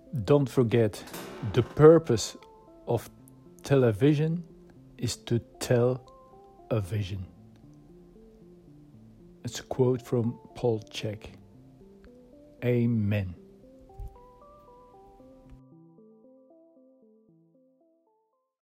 Don't forget, the purpose of television is to tell a vision. It's a quote from Paul Chek. Amen.